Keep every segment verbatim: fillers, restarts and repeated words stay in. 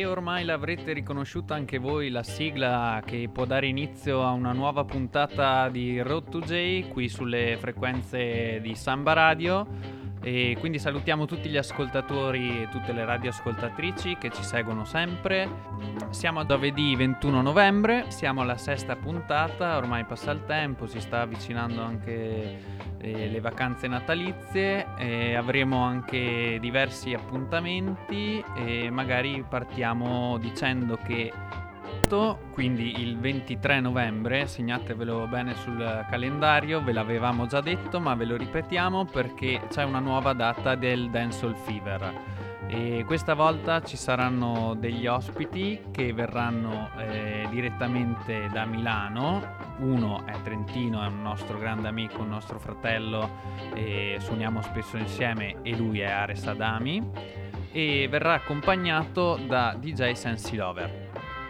ormai l'avrete riconosciuta anche voi, la sigla che può dare inizio a una nuova puntata di Road to J qui sulle frequenze di Samba Radio. E quindi salutiamo tutti gli ascoltatori e tutte le radioascoltatrici che ci seguono sempre. Siamo a giovedì ventuno novembre, siamo alla sesta puntata, ormai passa il tempo, si sta avvicinando anche eh, le vacanze natalizie, e avremo anche diversi appuntamenti e magari partiamo dicendo che quindi il ventitré novembre, segnatevelo bene sul calendario, ve l'avevamo già detto ma ve lo ripetiamo perché c'è una nuova data del Dancehall Fever e questa volta ci saranno degli ospiti che verranno eh, direttamente da Milano. Uno è trentino, è un nostro grande amico, un nostro fratello, e suoniamo spesso insieme, e lui è Ares Adami, e verrà accompagnato da D J Sensi Lover.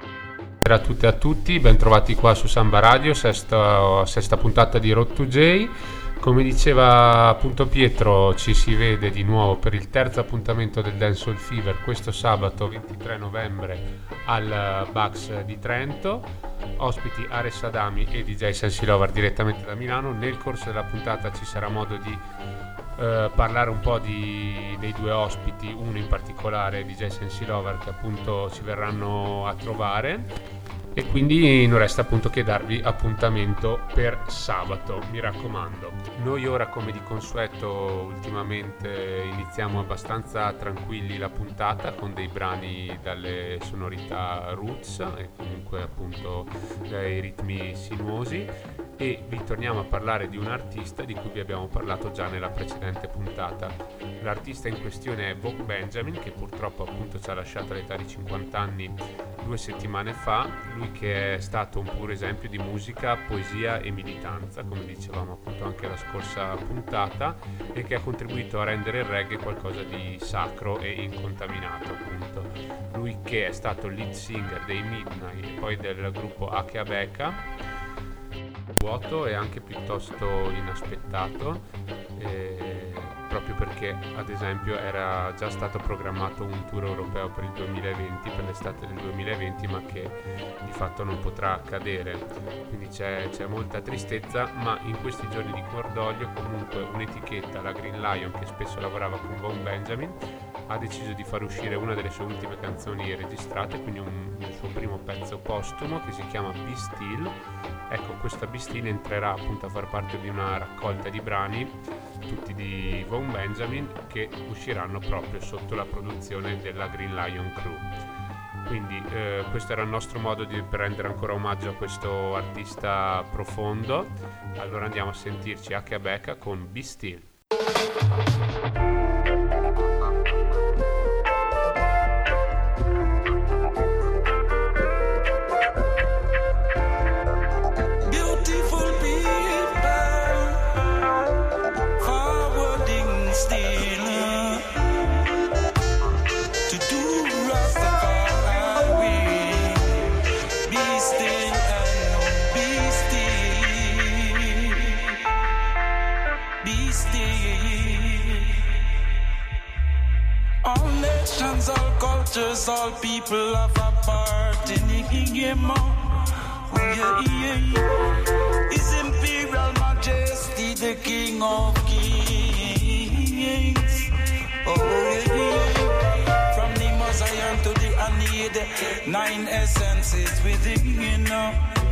A tutte e a tutti, ben trovati qua su Samba Radio, sesta, sesta puntata di Road to J. Come diceva appunto Pietro, ci si vede di nuovo per il terzo appuntamento del Dancehall Fever questo sabato ventitré novembre al Bugs di Trento. Ospiti Ares Adami e D J Sensi Lover direttamente da Milano. Nel corso della puntata ci sarà modo di Uh, parlare un po' di, dei due ospiti, uno in particolare D J Sensi Lover, che appunto ci verranno a trovare, e quindi non resta appunto che darvi appuntamento per sabato, mi raccomando. Noi ora, come di consueto, ultimamente iniziamo abbastanza tranquilli la puntata con dei brani dalle sonorità roots e comunque appunto dai ritmi sinuosi, e vi torniamo a parlare di un artista di cui vi abbiamo parlato già nella precedente puntata. L'artista in questione è Vogue Benjamin, che purtroppo appunto ci ha lasciato all'età di cinquanta anni due settimane fa. Lui che è stato un puro esempio di musica, poesia e militanza, come dicevamo appunto anche la scorsa puntata, e che ha contribuito a rendere il reggae qualcosa di sacro e incontaminato appunto. Lui che è stato lead singer dei Midnight e poi del gruppo Akeabeka, vuoto e anche piuttosto inaspettato, eh, proprio perché ad esempio era già stato programmato un tour europeo per il duemilaventi, per l'estate del duemilaventi, ma che di fatto non potrà accadere, quindi c'è, c'è molta tristezza. Ma in questi giorni di cordoglio comunque un'etichetta, la Green Lion, che spesso lavorava con Vogue Benjamin, ha deciso di far uscire una delle sue ultime canzoni registrate, quindi un, un suo primo pezzo postumo che si chiama Be Still. Ecco, questa Be Still entrerà appunto a far parte di una raccolta di brani, tutti di Vogue Benjamin, che usciranno proprio sotto la produzione della Green Lion Crew. Quindi eh, questo era il nostro modo di per rendere ancora omaggio a questo artista profondo. Allora andiamo a sentirci Akeabeka con Be Still. All cultures, all people have a part in the game. Oh, yeah, yeah. His Imperial Majesty, the King of Kings. Oh, yeah, yeah. From the Messiah to the Aeneid, nine essences within, you know.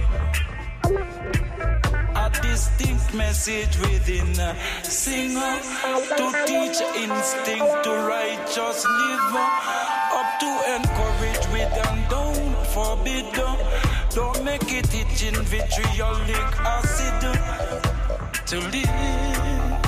A distinct message within, sing to teach instinct to righteous live, up to encourage with and don't forbid, don't make it itching vitriolic acid to live.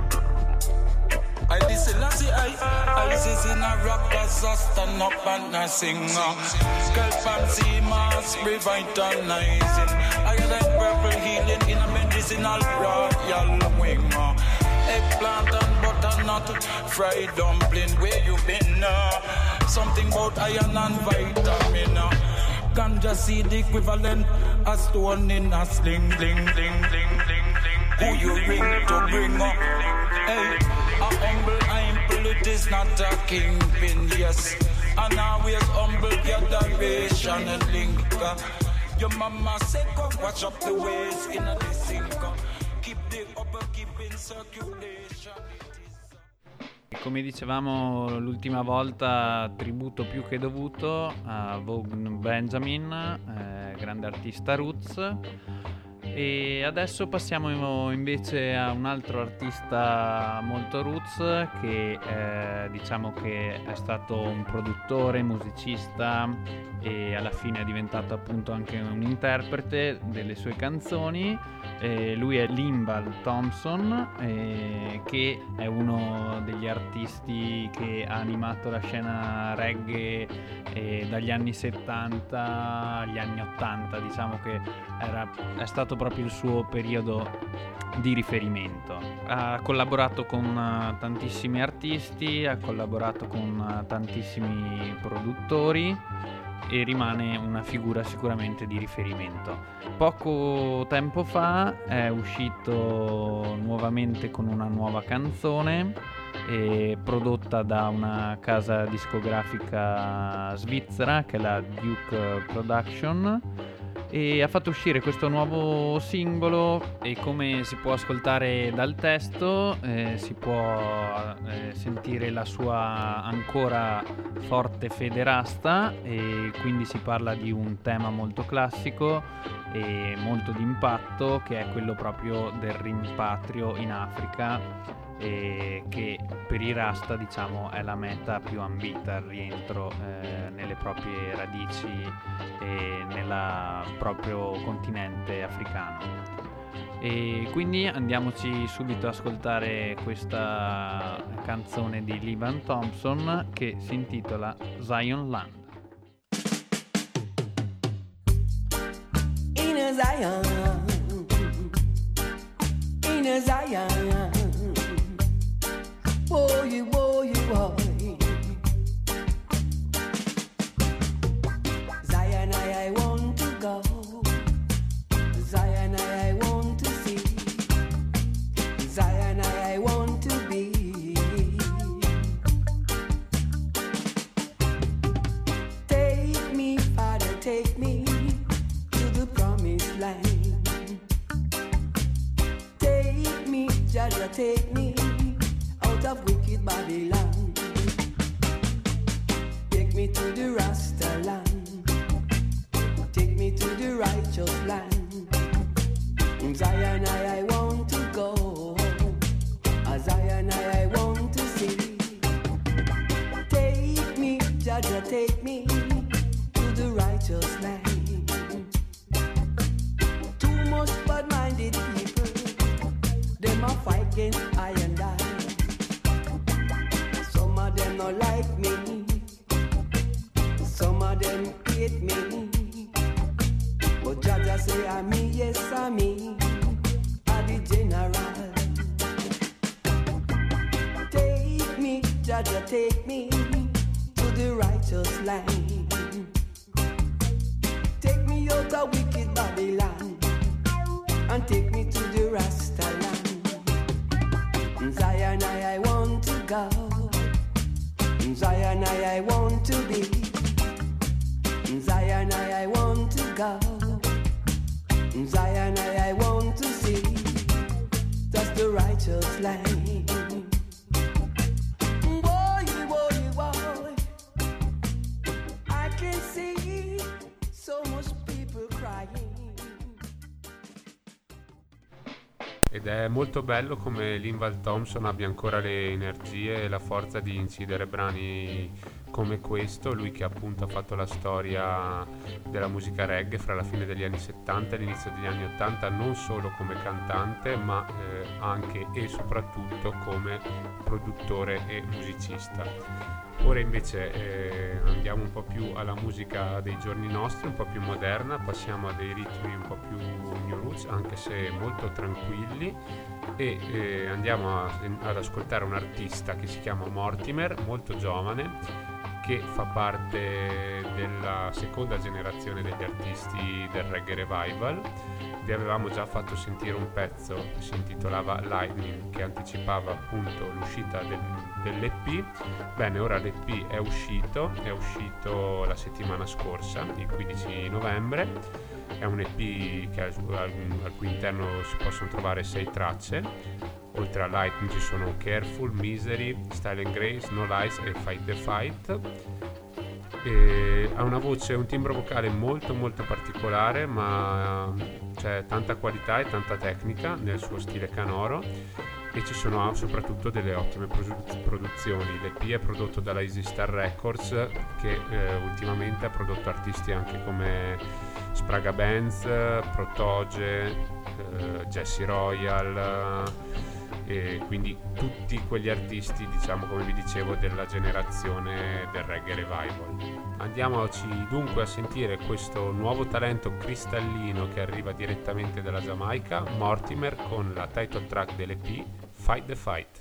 I listen, I see, I, I is in a rock, as I stand up and I sing. Scalp and sea mask revitalizing. I like purple healing in a medicinal royal wing. Eggplant and butternut, fried dumpling, where you been? Uh, something about iron and vitamin. Uh, ganja seed equivalent, a stone in a sling, bling, bling, bling, bling, bling. Who you ring to bring up? Hey. A humble ample, it is not a kingpin, yes. and always humble gatheration and link. Your mama say go watch up the ways in a sink. Keep the upper, keep in circulation. Come dicevamo l'ultima volta, tributo più che dovuto a Vaughn Benjamin, eh, grande artista roots. E adesso passiamo invece a un altro artista molto roots che eh, diciamo che è stato un produttore, musicista e alla fine è diventato appunto anche un interprete delle sue canzoni. Eh, lui è Linval Thompson, eh, che è uno degli artisti che ha animato la scena reggae eh, dagli anni settanta agli anni ottanta, diciamo che era, è stato proprio il suo periodo di riferimento. Ha collaborato con uh, tantissimi artisti, ha collaborato con uh, tantissimi produttori e rimane una figura sicuramente di riferimento. Poco tempo fa è uscito nuovamente con una nuova canzone eh, prodotta da una casa discografica svizzera che è la Duke Production, e ha fatto uscire questo nuovo singolo e come si può ascoltare dal testo eh, si può eh, sentire la sua ancora forte fede rasta, e quindi si parla di un tema molto classico e molto d'impatto, che è quello proprio del rimpatrio in Africa, e che per i Rasta diciamo è la meta più ambita, il rientro eh, nelle proprie radici e nel proprio continente africano. E quindi andiamoci subito ad ascoltare questa canzone di Linval Thompson che si intitola Zion Land. In a Zion, in a Zion, boy, boy, boy. Zion, I, I want to go. Zion, I, I want to see. Zion, I, I want to be. Take me, Father, take me to the promised land. Take me, Jaja, take me out of wicked Babylon. Take me to the Rasta land. Take me to the righteous land. In Zion I, I want to go. A Zion I, I want to see. Take me, Jaja, take me to the righteous land. Too much bad-minded people, them a fight against I and I. Some of them not like me, some of them hate me. But Jaja say I'm me, yes I'm me, I'm the general. Take me, Jaja, take me to the righteous land. Take me out of wicked Babylon and take me to the Rasta land. In Zion I, I want to go. In Zion I, I want to be. In Zion I, I want to go. In Zion I, I want to see. That's the righteous land. Boy, boy, boy, I can see so much people crying. Ed è molto bello come Linval Thompson abbia ancora le energie e la forza di incidere brani come questo, lui che appunto ha fatto la storia della musica reggae fra la fine degli anni settanta e l'inizio degli anni ottanta, non solo come cantante ma eh, anche e soprattutto come produttore e musicista. Ora invece eh, andiamo un po' più alla musica dei giorni nostri, un po' più moderna, passiamo a dei ritmi un po' più new roots, anche se molto tranquilli, e eh, andiamo a, ad ascoltare un artista che si chiama Mortimer, molto giovane, che fa parte della seconda generazione degli artisti del Reggae Revival. Vi avevamo già fatto sentire un pezzo che si intitolava Lightning, che anticipava appunto l'uscita del dell'E P. Bene, ora l'E P è uscito, è uscito la settimana scorsa, il quindici novembre. È un E P che al, al, al cui interno si possono trovare sei tracce. Oltre a Lightning ci sono Careful, Misery, Style and Grace, No Lies e Fight the Fight. E ha una voce, un timbro vocale molto molto particolare, ma c'è tanta qualità e tanta tecnica nel suo stile canoro, e ci sono soprattutto delle ottime produzioni. L'E P è prodotto dalla Easy Star Records, che eh, ultimamente ha prodotto artisti anche come Spraga Benz, Protoge, eh, Jesse Royal, e quindi tutti quegli artisti, diciamo, come vi dicevo, della generazione del reggae revival. Andiamoci dunque a sentire questo nuovo talento cristallino che arriva direttamente dalla Giamaica, Mortimer, con la title track dell'E P, Fight the Fight.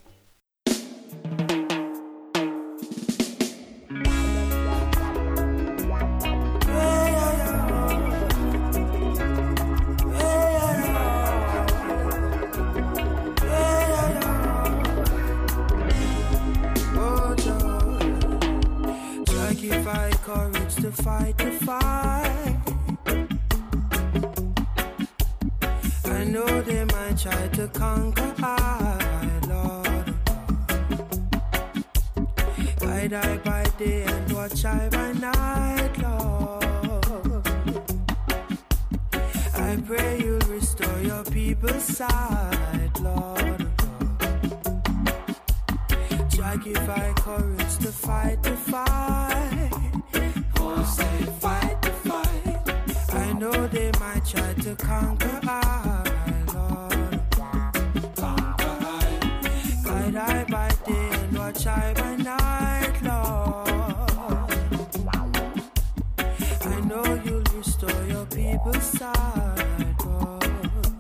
To fight the fight, I know they might try to conquer I, Lord. Guide I by day and watch I by night, Lord. I pray you'll restore your people's sight, Lord. Try give I courage to fight the fight. Say fight the fight. I know they might try to conquer I, Lord. Conquer I. Guide I by day and watch I by night, Lord. I know you'll restore your people's sight, Lord.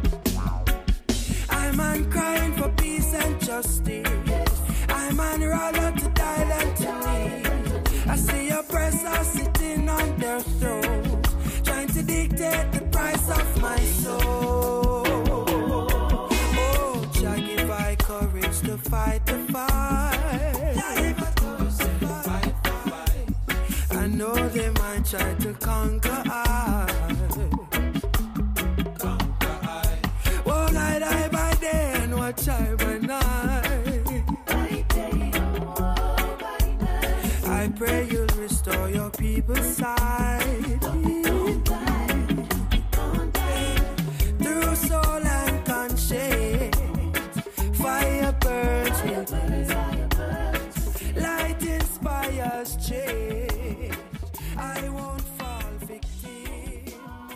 I'm on crying for peace and justice. I'm on rather to die than to live. I see oppressors sitting on their thrones, trying to dictate the price of my soul. Oh, Jah give I courage to fight the fight. I know they might try to conquer I. Oh, guide I by day and watch I by night. I pray you'll restore your people's sight. Through soul and conscience, fire burns within. Light inspires change. I won't fall victim.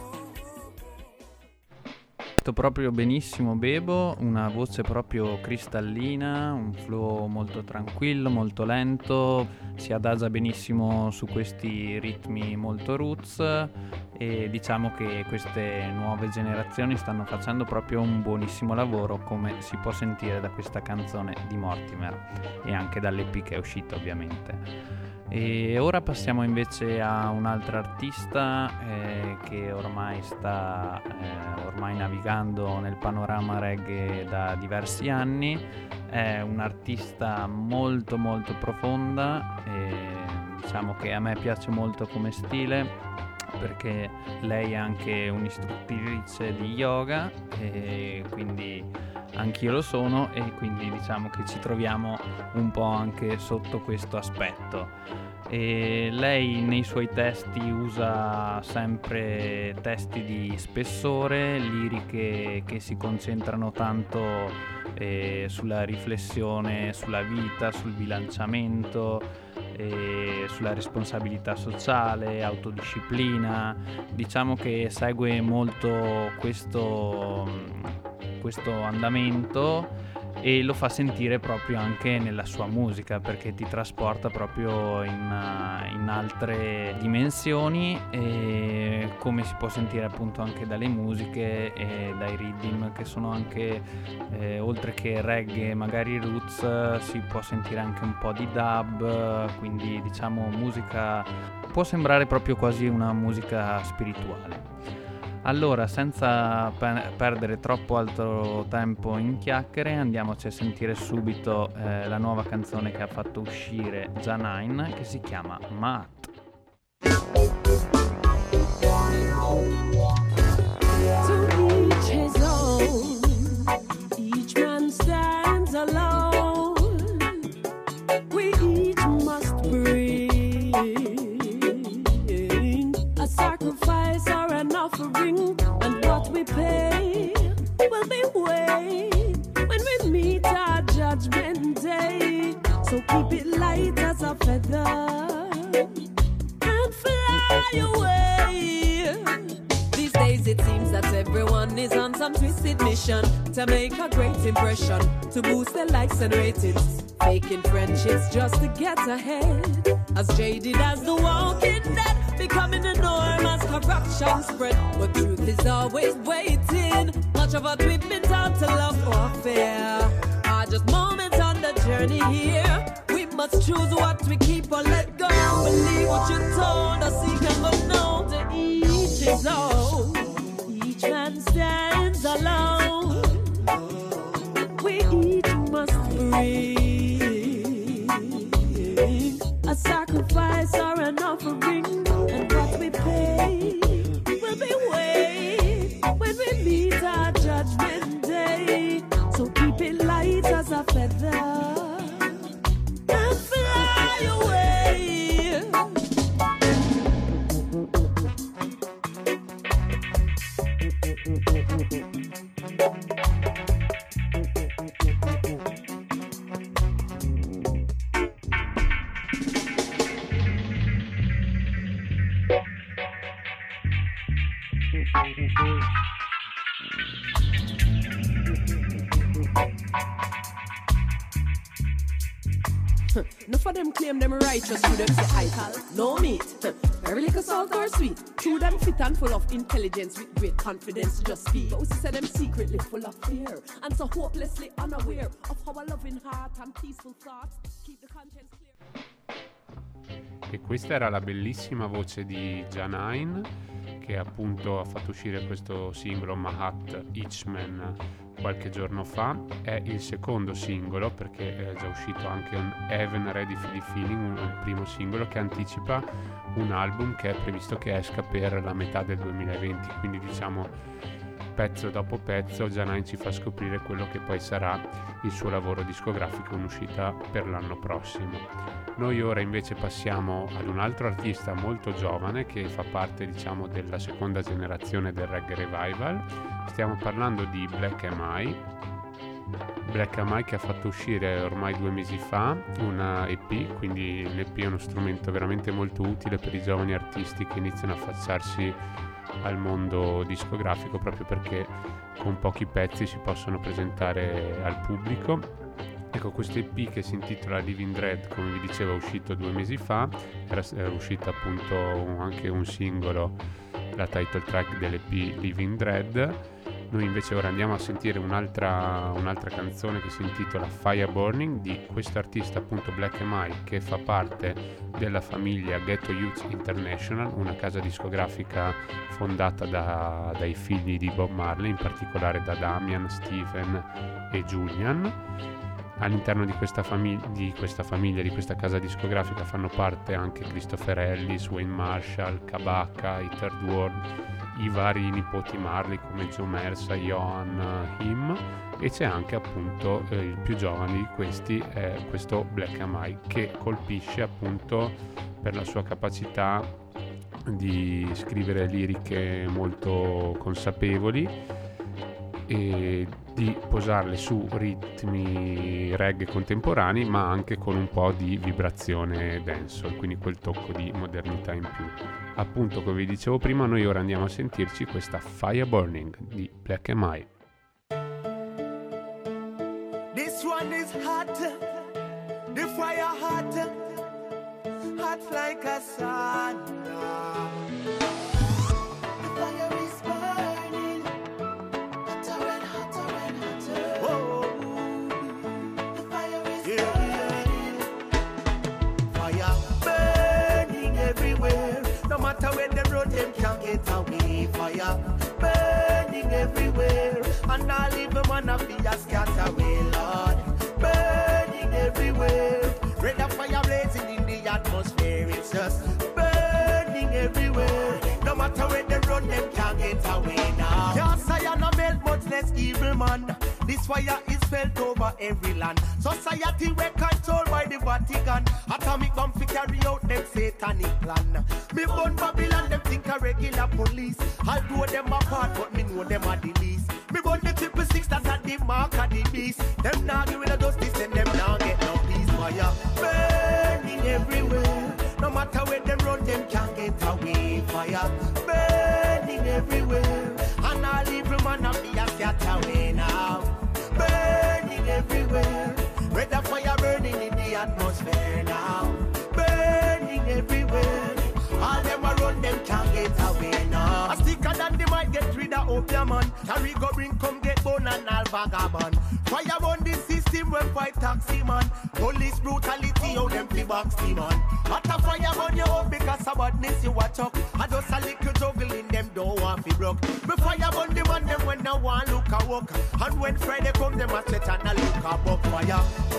Proprio benissimo Bebo, una voce proprio cristallina, un flow molto tranquillo, molto lento, si adagia benissimo su questi ritmi molto roots, e diciamo che queste nuove generazioni stanno facendo proprio un buonissimo lavoro, come si può sentire da questa canzone di Mortimer e anche dall'E P che è uscita ovviamente. E ora passiamo invece a un altro artista eh, che ormai sta eh, ormai navigando nel panorama reggae da diversi anni. È un artista molto molto profonda, e diciamo che a me piace molto come stile, perché lei è anche un'istruttrice di yoga, e quindi anch'io lo sono, e quindi diciamo che ci troviamo un po' anche sotto questo aspetto. E lei nei suoi testi usa sempre testi di spessore, liriche che si concentrano tanto eh, sulla riflessione sulla vita, sul bilanciamento, eh, sulla responsabilità sociale, autodisciplina. Diciamo che segue molto questo, questo andamento, e lo fa sentire proprio anche nella sua musica, perché ti trasporta proprio in, in altre dimensioni, e come si può sentire appunto anche dalle musiche e dai rhythm, che sono anche eh, oltre che reggae magari roots, si può sentire anche un po' di dub, quindi diciamo musica, può sembrare proprio quasi una musica spirituale. Allora, senza pe- perdere troppo altro tempo in chiacchiere, andiamoci a sentire subito eh, la nuova canzone che ha fatto uscire Janine, che si chiama Mahat. To each his own, each man stands alone, we each must bring a sacrifice or an offering, and what we pay will be weighed when we meet our judgment day. So keep it light as a feather and fly away. These days it seems that everyone is on some twisted mission to make a great impression, to boost their likes and ratings, faking friendships just to get ahead. As jaded as the walking dead, becoming the norm as corruption spread. But truth is always waiting. Much of what we've been taught to love or fear are just moments on the journey here. We must choose what we keep or let go. Believe what you told us, seek and look now. To each his own, each man stands alone. We each must bring a sacrifice or an offering, and what we pay will be weighed when we meet our judgment day. So keep it light as a feather and fly away. Enough of them claim them righteous, to them say I call no meat. Very little salt or sweet. True them fit and full of intelligence with great confidence to just speak. But we say them secretly full of fear and so hopelessly unaware of our loving heart and peaceful thoughts. Keep the conscience clear. E questa era la bellissima voce di Janine, che appunto ha fatto uscire questo singolo Mahat Ichman qualche giorno fa. È il secondo singolo, perché è già uscito anche un Heaven Ready for the Feeling, il primo singolo che anticipa un album che è previsto che esca per la metà del duemilaventi, quindi diciamo pezzo dopo pezzo Janine ci fa scoprire quello che poi sarà il suo lavoro discografico in uscita per l'anno prossimo. Noi ora invece passiamo ad un altro artista molto giovane che fa parte, diciamo, della seconda generazione del reggae revival. Stiamo parlando di Black M I. Black M I che ha fatto uscire ormai due mesi fa una E P, quindi l'E P è uno strumento veramente molto utile per i giovani artisti che iniziano a affacciarsi al mondo discografico, proprio perché con pochi pezzi si possono presentare al pubblico. Ecco, questo E P che si intitola Living Dread, come vi dicevo, è uscito due mesi fa, era, era uscito appunto anche un singolo, la title track dell'E P Living Dread. Noi invece ora andiamo a sentire un'altra, un'altra canzone che si intitola Fire Burning, di questo artista appunto Black M I, che fa parte della famiglia Ghetto Youth International, una casa discografica fondata da, dai figli di Bob Marley, in particolare da Damian, Stephen e Julian. All'interno di questa, famig- di questa famiglia, di questa casa discografica, fanno parte anche Christopher Ellis, Wayne Marshall, Kabaka, i Third World, i vari nipoti Marley come Joe Mersa, Johan, Him, e c'è anche appunto eh, il più giovane di questi, è questo Black M I, che colpisce appunto per la sua capacità di scrivere liriche molto consapevoli e di posarle su ritmi reggae contemporanei, ma anche con un po' di vibrazione dancehall, quindi quel tocco di modernità in più. Appunto, come vi dicevo prima, noi ora andiamo a sentirci questa Fire Burning di Black M I. This one is hot, the fire hot, hot like a sauna. No matter where them road, them can't get away. Fire and all evil man of be a scatter away, Lord. Burning everywhere, red of fire blazing in the atmosphere. It's just burning everywhere. No matter where they run, them can't get away now. Yes, I am a melt, much less evil man. This fire is felt over every land. Society we're controlled by the Vatican. Atomic bomb fi carry out them satanic plan. Me born Babylon, them think a regular police. I'll do them apart, but me know them are the least. Me born the triple six, that's at the mark of the beast. Them now give me the justice, and them now get no peace. Fire burning everywhere. No matter where them run, them can't get away. Fire burning everywhere. And all evil man of me a scatter away now. Burning everywhere. Red the fire burning in the atmosphere now. Burning everywhere. All them a run, them can't get away now. A sticker than they might get rid of opium man. Carry go bring come get bone and all vagabond. Fire burn the system when fight taxi man. Police brutality, how them flip box man. Hot a fire burn you up because of badness you watch up. I just a little juggling them don't want to broke. Me fire burn the man them when no one look a walk. And when Friday come them a stretch and a look a buck. Fire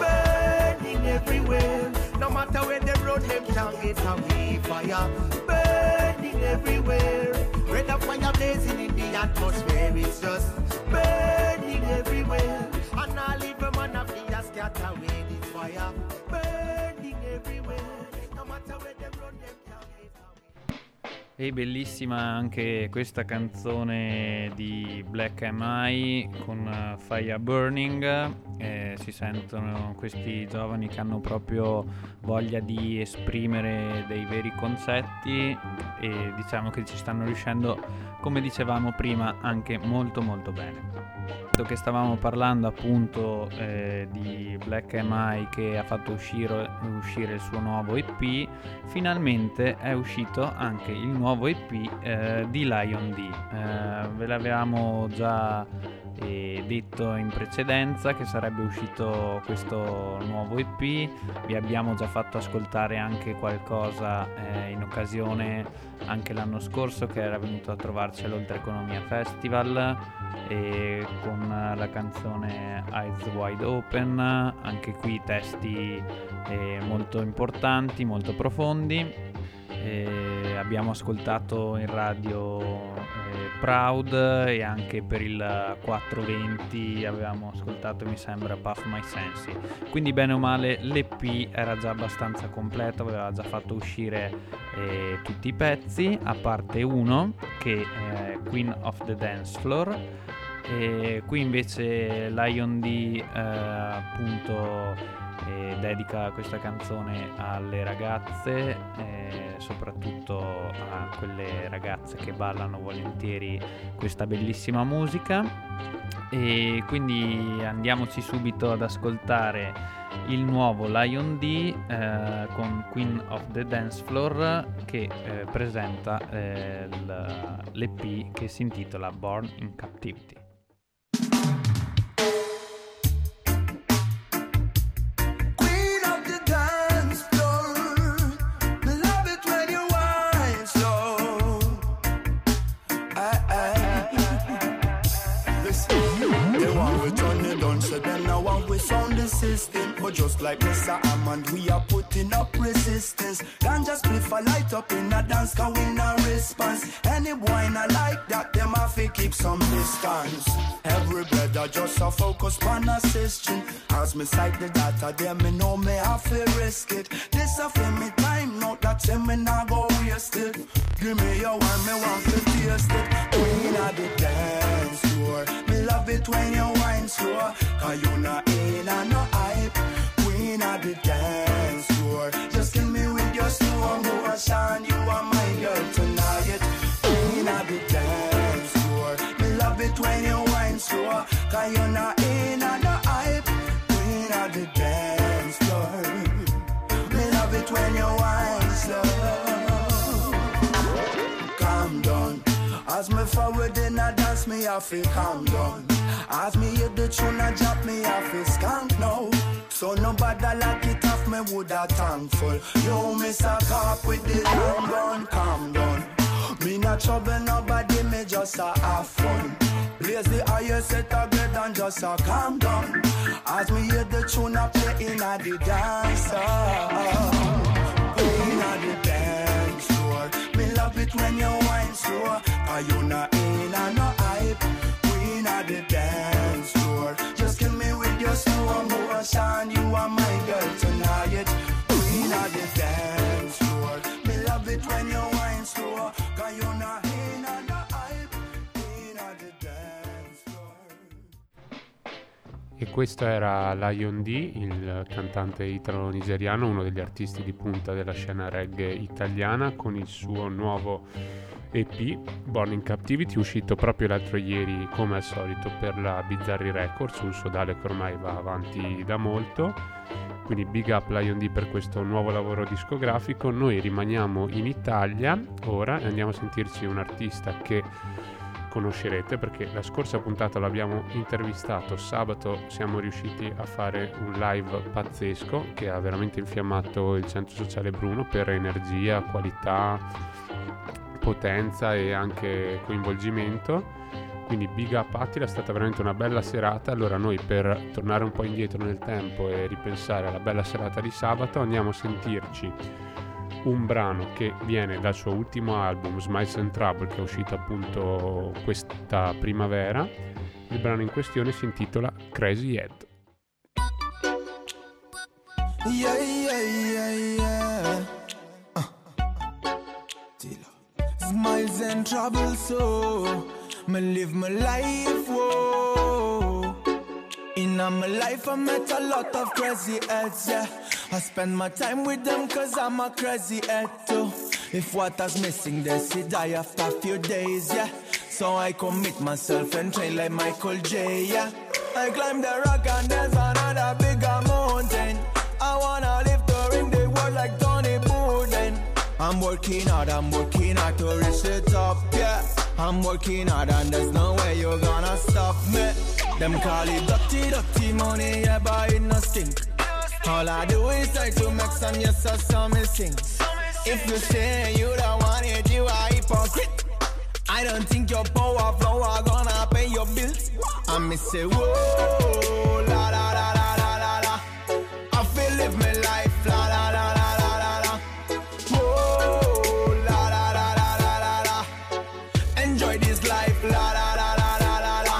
burning everywhere. No matter where they run them can't get away. Fire burning everywhere. Red of fire blazing in the atmosphere. It's just burning everywhere. And all evil man of the scatter away this fire. Burning everywhere. No matter where they run them can't get away. E bellissima anche questa canzone di Black M I con uh, Fire Burning. Eh, si sentono questi giovani che hanno proprio voglia di esprimere dei veri concetti e diciamo che ci stanno riuscendo, come dicevamo prima, anche molto molto bene. Che stavamo parlando appunto eh, di Black M I che ha fatto uscire, uscire il suo nuovo E P, finalmente è uscito anche il nuovo E P eh, di Lion D. Eh, ve l'avevamo già eh, detto in precedenza che sarebbe uscito questo nuovo E P, vi abbiamo già fatto ascoltare anche qualcosa eh, in occasione anche l'anno scorso che era venuto a trovarci all'Oltre Economia Festival e con la canzone Eyes Wide Open, anche qui testi eh, molto importanti, molto profondi. Eh, abbiamo ascoltato in radio eh, Proud e anche per il quattrocentoventi avevamo ascoltato, mi sembra, Puff My Sensi. Quindi bene o male l'E P era già abbastanza completo, aveva già fatto uscire eh, tutti i pezzi a parte uno che è Queen of the Dance Floor. E qui invece Lion D eh, appunto eh, dedica questa canzone alle ragazze, eh, soprattutto a quelle ragazze che ballano volentieri questa bellissima musica. E quindi andiamoci subito ad ascoltare il nuovo Lion D eh, con Queen of the Dance Floor che eh, presenta eh, l'E P che si intitola Born in Captivity. System, but just like Mister Hammond, we are putting up resistance. Can't just split a light up in a dance, cause we no response. Any boy not like that, them have to keep some distance. Every brother just a focus on assisting. As me cite the data, them me know me have to risk it. This a for me time, not that them me not go waste it. Give me your one, me want to taste it. Queen of the dance floor, me love it when you wine slow, cause you not in and no hype. Queen of the dance floor, just kill me with your slow motion. You are my girl tonight. Queen of the dance floor, me love it when you wine slow, cause you not in and no hype. Queen of the dance floor, me love it when you wine slow. Calm down, as me forward in a dance, me have to calm down. As me hit the tune and drop, me have to skank now. So nobody like it off, me woulda thankful. Yo, me suck up with the long gun, calm down. Me not trouble nobody, me just a have fun. Blaze the highest set a grade and just a calm down. As me hear the tune a play in a the dance hall. In a the dance floor. Me love it when you whine slow. Cause you not in a no hype. We in a the dance floor. Just kill me with your slow motion. You are my girl tonight. We in a the dance floor. Me love it when you whine slow. Cause you not in a no hype. We in a the dance floor. E questo era Lion D, il cantante italo-nigeriano, uno degli artisti di punta della scena reggae italiana, con il suo nuovo E P, Born in Captivity, uscito proprio l'altro ieri come al solito per la Bizzarri Records, un sodale che ormai va avanti da molto. Quindi big up Lion D per questo nuovo lavoro discografico. Noi rimaniamo in Italia ora e andiamo a sentirci un artista che conoscerete perché la scorsa puntata l'abbiamo intervistato, sabato siamo riusciti a fare un live pazzesco che ha veramente infiammato il Centro Sociale Bruno per energia, qualità, potenza e anche coinvolgimento. Quindi big up Attila, è stata veramente una bella serata. Allora noi, per tornare un po' indietro nel tempo e ripensare alla bella serata di sabato, andiamo a sentirci un brano che viene dal suo ultimo album Smiles and Trouble, che è uscito appunto questa primavera. Il brano in questione si intitola Crazy Head. Yeah, yeah, yeah, yeah. Uh. Smiles and trouble, so me live my life, whoa. In my life I met a lot of crazy heads, yeah. I spend my time with them cause I'm a crazy head too. If water's missing they see die after a few days, yeah. So I commit myself and train like Michael J, yeah. I climb the rock and there's another bigger mountain. I wanna live to ring the world like Tony Buden. I'm working hard, I'm working hard to reach the top, yeah. I'm working hard and there's no way you're gonna stop me. Them call it dirty, dirty money, yeah, but it no stink. All I do is try to make some yes or some sing. If you say you don't want it, you are hypocrite. I don't think your power flow are gonna pay your bills. I me say whoa, la la la la la la la. I feel live my life, la la la la la la la. Whoa, la la la la la la la. Enjoy this life, la la la la la la la.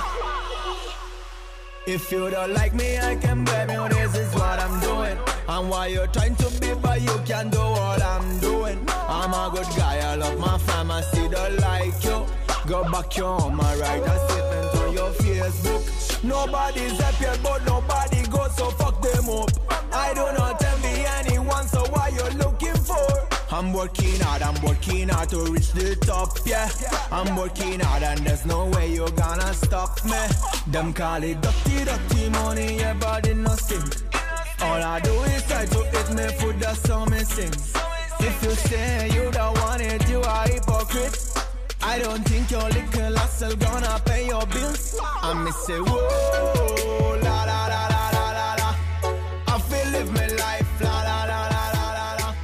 If you don't like me, I can blame you. This is what I'm doing. And why you're trying to be, but you can't do what I'm doing. I'm a good guy, I love my fam, I still don't like you. Go back home, I write a statement on your Facebook. Nobody's happy, but nobody goes, so fuck them up. I do not envy anyone, so what you looking for? I'm working hard, I'm working hard to reach the top, yeah. I'm working hard and there's no way you're gonna stop me. Them call it dirty, dirty money, yeah, but it no stink. All I do is try to eat me food, that's how me sing. If you say you don't want it, you are hypocrite. I don't think your little hustle gonna pay your bills. I me say whoa, la la la la la la la. I feel live my life, la la la la la la la.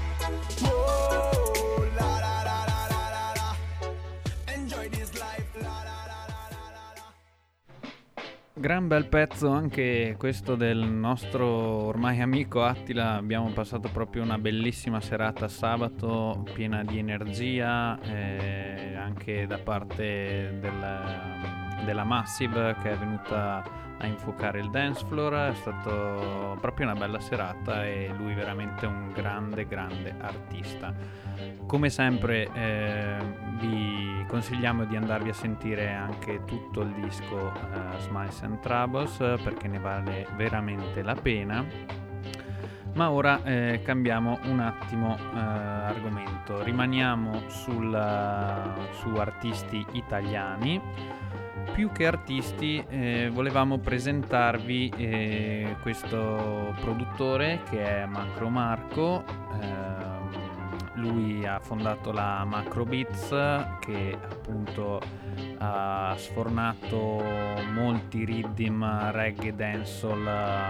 Whoa, la la la la la la la. Enjoy this life, la la la la la la. Gran bel pezzo anche questo del nostro ormai amico Attila. Abbiamo passato proprio una bellissima serata sabato, piena di energia, eh, anche da parte del, della Massive che è venuta a infuocare il dance floor. È stato proprio una bella serata e lui veramente un grande grande artista. Come sempre eh, vi consigliamo di andarvi a sentire anche tutto il disco eh, Smiles and Troubles perché ne vale veramente la pena. Ma ora eh, cambiamo un attimo eh, argomento, rimaniamo sul, su artisti italiani. Più che artisti eh, volevamo presentarvi eh, questo produttore che è Macro Marco. eh, Lui ha fondato la Macro Beats che appunto ha sfornato molti rhythm reggae dancehall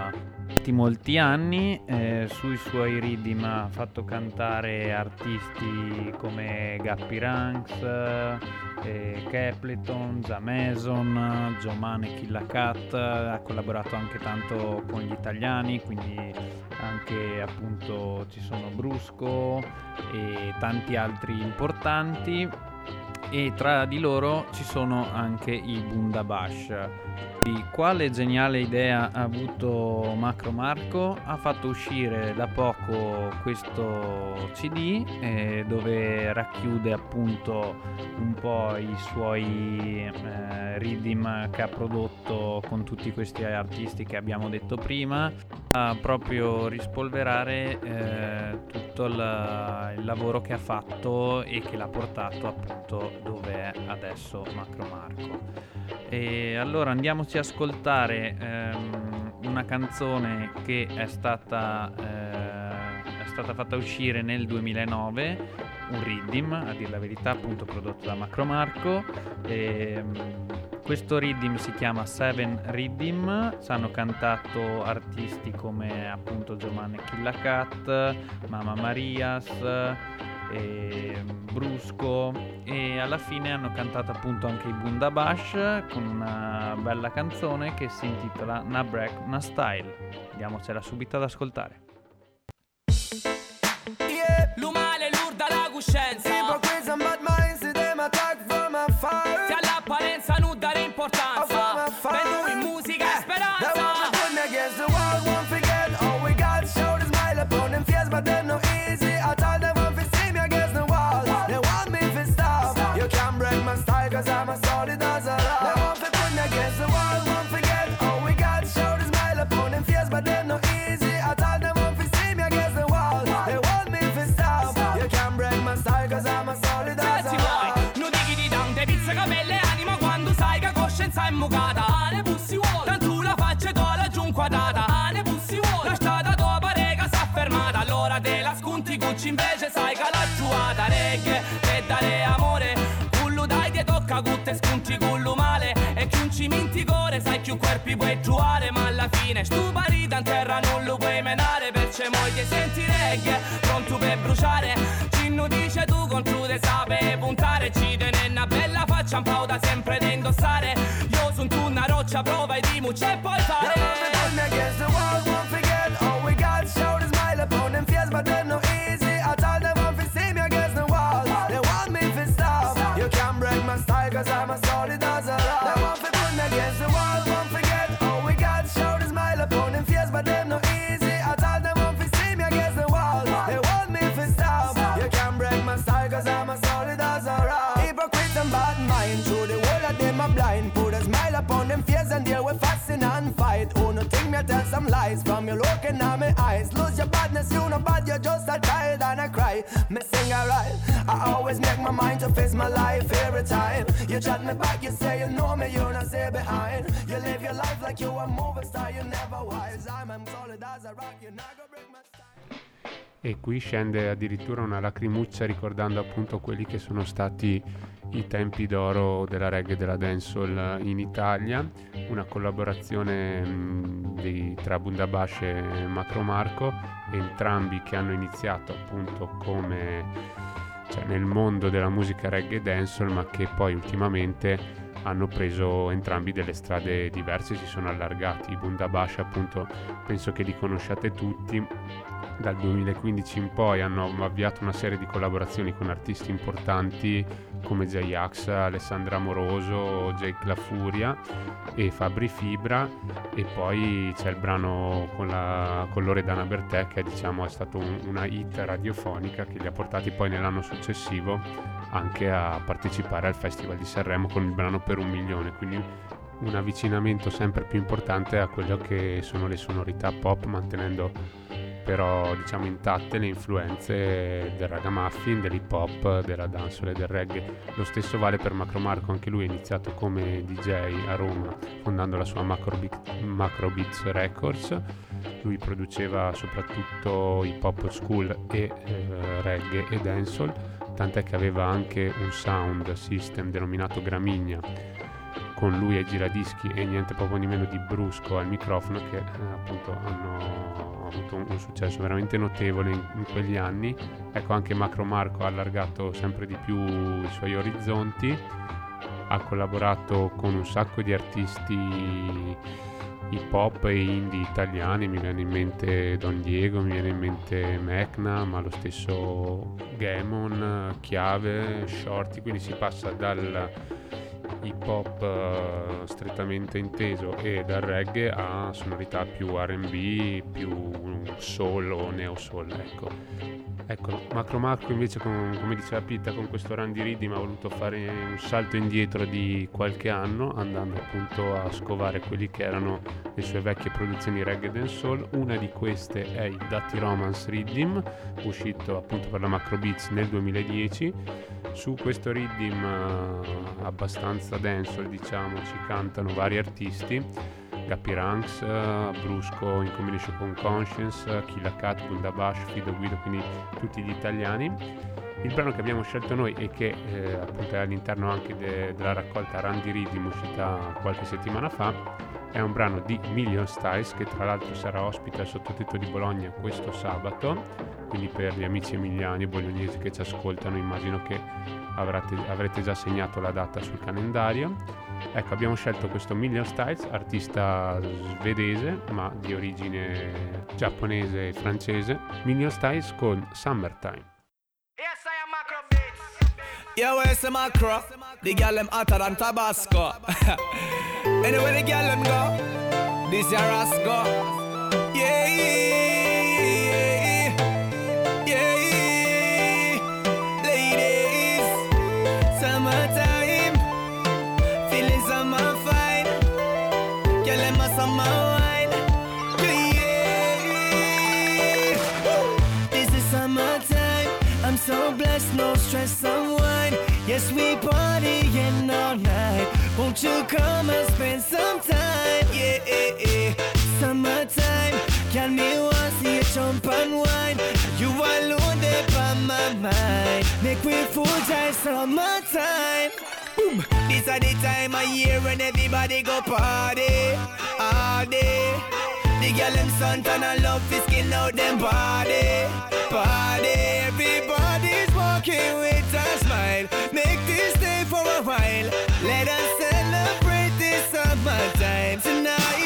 molti anni. Eh, sui suoi rhythm ha fatto cantare artisti come Guppy Ranks, eh, Capleton, Zamason, Giomane Killa Cat. Ha collaborato anche tanto con gli italiani, quindi anche appunto ci sono Brusco e tanti altri importanti, e tra di loro ci sono anche i Bundabash. Di quale geniale idea ha avuto Macro Marco? Ha fatto uscire da poco questo C D eh, dove racchiude appunto un po' i suoi eh, rhythm che ha prodotto con tutti questi artisti che abbiamo detto prima, a proprio rispolverare eh, tutto il, il lavoro che ha fatto e che l'ha portato appunto dove è adesso Macro Marco. E allora andiamoci a ascoltare ehm, una canzone che è stata eh, è stata fatta uscire nel duemilanove, un rhythm, a dire la verità, appunto prodotto da Macro Marco. E, questo rhythm si chiama Seven Rhythm. Ci hanno cantato artisti come appunto Giomane Killa Cat, Mama Marias e Brusco, e alla fine hanno cantato appunto anche i Bundabash con una bella canzone che si intitola Na Break Na Style. Andiamocela subito ad ascoltare. Yeah, l'umale l'urda la coscienza, Ipocrisia bad minds, see them attack from afar. ti all'apparenza non dare importanza, per noi musica e speranza. They want me putting against the wall, won't forget all we got. Show the smile upon them face, but they're no easy. I told them want to see me against the wall. They want me to stop. You can't break my style, cause I'm a solid as a rock. They want me putting against the wall, won't forget all we got. Show the smile upon them face, but they're no easy. I told them want to see me against the wall. They want me to stop. You can't break my style, cause I'm a solid as a rock. Non dighi di tante pizze, capelle e anima quando sai che coscienza è mucata. Ane pussi vuole, tanto la faccia tua laggiù inquadrata. Ane pussi vuole, la strada tua parega s'è fermata. Allora te la sconti cucci invece sai che la giuata. Reggae per dare amore, cullo dai ti tocca cutte sconti cullo male. E chi un ciminticore sai più corpi puoi giuare. Ma alla fine stu parita in terra non lo puoi menare. Perciò moglie senti reggae, pronto per bruciare. Cinno dice tu contro te sape puntare. Ci tene una bella faccia un po' da sempre da indossare. Io son tu una roccia, prova e dimmi c'è puoi fare. They want me putting against the wall, won't forget all we got. Show the smile upon them face, but they're no easy. I told them want to see me against the wall. They want me to stop. You can't break my style, cause I'm a solid as a rock. They want me putting against the wall, won't forget all we got. Show the smile upon them face, but they're no easy. I told them want to see me against the wall. They want me to stop. You can't break my style, cause I'm a solid as a rock. Hypocrites and bad mind, through the whole of them are blind. Put a smile upon them face and there we fasting and fight. Oh, no think me tell some lies from you looking at my eyes. Lose your badness, you know bad, you're just a child and I cry. Me sing alright, I always make my mind to face my life every time. You chat me back, you say you know me, you not say behind. You live your life like you a movie star, you never wise. I'm, I'm solid as a rock, you're not gonna break my style. E qui scende addirittura una lacrimuccia ricordando appunto quelli che sono stati i tempi d'oro della reggae e della dancehall in Italia, una collaborazione mh, di, tra Bundabash e Macro Marco, entrambi che hanno iniziato appunto come cioè, nel mondo della musica reggae e dancehall, ma che poi ultimamente hanno preso entrambi delle strade diverse, si sono allargati. I Bundabash appunto penso che li conosciate tutti. Dal duemilaquindici in poi hanno avviato una serie di collaborazioni con artisti importanti come J-Ax, Alessandra Amoroso, Jake La Furia e Fabri Fibra, e poi c'è il brano con, la, con Loredana Bertè che diciamo è stato un, una hit radiofonica che li ha portati poi nell'anno successivo anche a partecipare al Festival di Sanremo con il brano Per un milione, quindi un avvicinamento sempre più importante a quello che sono le sonorità pop, mantenendo però diciamo intatte le influenze del ragamuffin, dell'hip hop, della dancehall e del reggae. Lo stesso vale per Macro Marco, anche lui è iniziato come D J a Roma fondando la sua Macro, Beat, Macro Beats Records. Lui produceva soprattutto hip hop school e eh, reggae e dancehall, tant'è che aveva anche un sound system denominato Gramigna con lui ai giradischi e niente poco di meno di Brusco al microfono, che eh, appunto hanno avuto un, un successo veramente notevole in, in quegli anni. Ecco, anche Macro Marco ha allargato sempre di più i suoi orizzonti, ha collaborato con un sacco di artisti hip hop e indie italiani, mi viene in mente Don Diego, mi viene in mente Mecna, ma lo stesso Gamon, Chiave, Shorty, quindi si passa dal hip hop uh, strettamente inteso e dal reggae a sonorità più R and B, più soul o neo soul, ecco. Ecco, Macro Marco invece, con, come diceva Pitta, con questo Randy Riddim ha voluto fare un salto indietro di qualche anno, andando appunto a scovare quelli che erano le sue vecchie produzioni reggae e dancehall. Una di queste è il Dirty Romance Riddim, uscito appunto per la Macro Beats nel duemiladieci. Su questo Riddim uh, abbastanza dancehall, diciamo, ci cantano vari artisti: Gappy Ranks, uh, Brusco in combination con Conscience, uh, Killa Cat, Bundabash, Fido Guido, quindi tutti gli italiani. Il brano che abbiamo scelto noi e che eh, appunto è all'interno anche de- della raccolta Randy Riddim, uscita qualche settimana fa, è un brano di Million Styles, che tra l'altro sarà ospite al Sottotetto di Bologna questo sabato, quindi per gli amici emiliani e bolognesi che ci ascoltano immagino che avrete, avrete già segnato la data sul calendario. Ecco, abbiamo scelto questo Million Styles, artista svedese ma di origine giapponese e francese. Million Styles con Summertime. Yes, I am Macro Beats. Yeah, where's the Macro? The girl them hotter than Tabasco. Anyway, the girl them go, this your Rasco. Yeah, yeah, yeah. Ladies, summertime, feeling summer fine. Girl them a summer wine. Yeah, this is summertime. I'm so blessed, no stress, unwind. Yes, we partying all night. Won't you come and spend some time? Yeah, yeah, yeah. Summertime, can me want see you jump and wine. You alone there by my mind. Make we full time summertime. Boom. This is the time of year when everybody go party all day. The girl them sun tan and love to skin out them body. Party, everybody's walking with a smile. Make this day for a while. Let us celebrate this summertime tonight.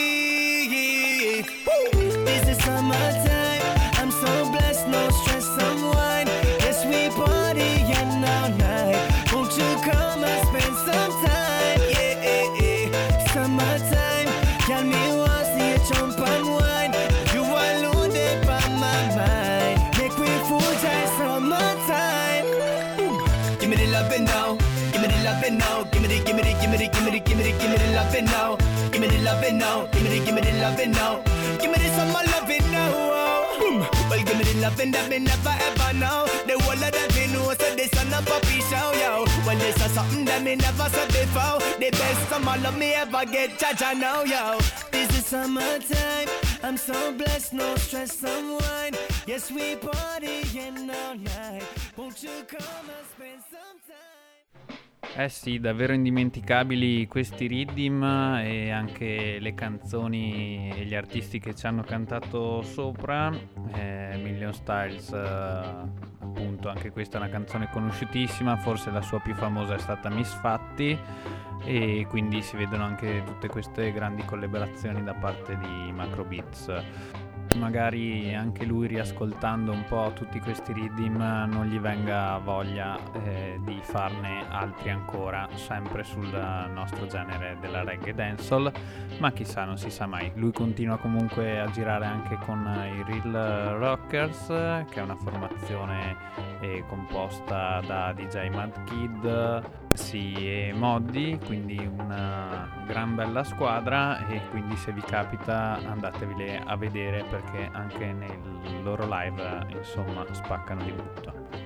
Woo! This is summertime. I'm so blessed, no stress, unwind. Yes, we partying all night. Won't you come and spend some time? Yeah, yeah, yeah. Summertime, can me want see you jump and wine. You alone there by my mind. Make me full time summertime. Ooh. Give me the loving now. Give me the loving now. Give me the, give me the, give me the, give me the, give me the, give me the loving now. Give me the loving now. Give me the, give me the loving now. Give me the summer loving now. Boom. Well, give me the loving that me never ever know. The whole of them me know so this on a puppy show, yo. Well, this is something that me never said before. The best summer love me ever get, cha-cha now, yo. This is summertime. I'm so blessed, no stress, unwind. Yes, we partying all night. Won't you come and spend some time? Eh sì, davvero indimenticabili questi Riddim e anche le canzoni e gli artisti che ci hanno cantato sopra. eh, Million Styles, eh, appunto, anche questa è una canzone conosciutissima, forse la sua più famosa è stata Misfatti, e quindi si vedono anche tutte queste grandi collaborazioni da parte di Macro Beats. Magari anche lui, riascoltando un po' tutti questi Riddim, non gli venga voglia eh, di farne altri ancora, sempre sul nostro genere della reggae dancehall, ma chissà, non si sa mai. Lui continua comunque a girare anche con i Real Rockers, che è una formazione eh, composta da D J Mad Kid, sì, e Moddi, quindi una gran bella squadra, e quindi se vi capita andateveli a vedere, perché anche nel loro live insomma spaccano di brutto.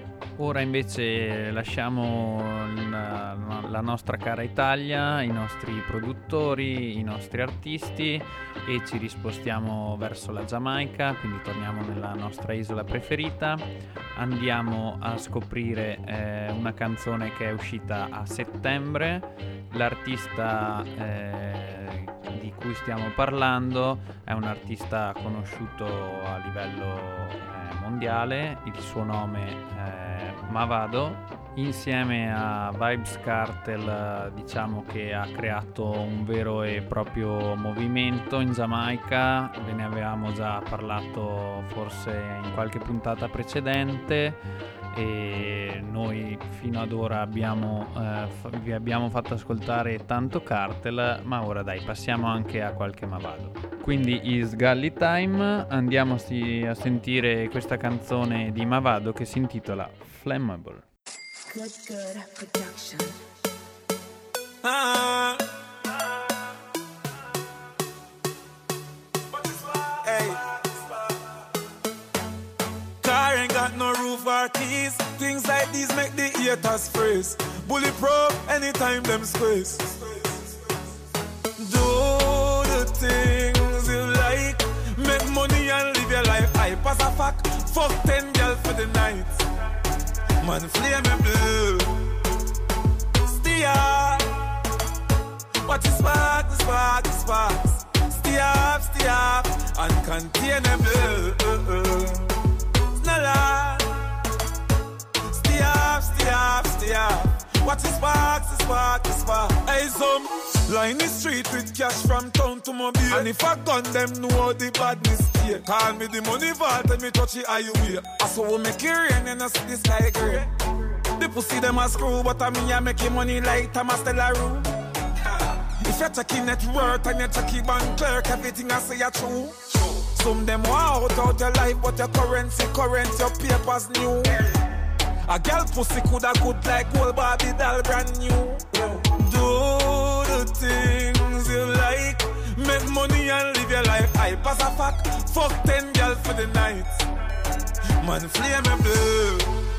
Ora invece lasciamo la, la nostra cara Italia, i nostri produttori, i nostri artisti e ci rispostiamo verso la Giamaica, quindi torniamo nella nostra isola preferita. Andiamo a scoprire eh, una canzone che è uscita a settembre. L'artista eh, di cui stiamo parlando è un artista conosciuto a livello eh, mondiale, il suo nome è Mavado. Insieme a Vybz Kartel diciamo che ha creato un vero e proprio movimento in Giamaica. Ve ne avevamo già parlato forse in qualche puntata precedente e noi fino ad ora abbiamo, eh, f- vi abbiamo fatto ascoltare tanto Kartel, ma ora dai, passiamo anche a qualche Mavado. Quindi is Gully Time, andiamo a sentire questa canzone di Mavado che si intitola Flammable. Good, good production. Ah. Hey. Car ain't got no roof or keys. Things like these make the haters freeze. Bulletproof anytime them squeeze. Do the things you like. Make money and live your life. I pass a fact. Fuck ten girls for the night. Man, flammable. Stay up. Watch the spark, the spark, the sparks. Stay up, stay up. Uncontainable. It's not lie. Stay up, stay up, stay up. Watch the sparks, the spark, the spark. Hey, some line the street with cash from town to Mobile. And if I gun them, know the badness here. Call me the money vault and me touch it highway. I saw we make it rain and I see the sky grey. The pussy them a screw, but I me I make money like Thomas Stella room. If you're checking net worth and you're checking bank clerk, everything I say you true. Some them want out out your life, but your currency current, your papers new. A girl pussy coulda good like old Barbie doll brand new. Do the things you like. Make money and live your life. I pass a fact. Fuck ten girls for the night. Man, flammable.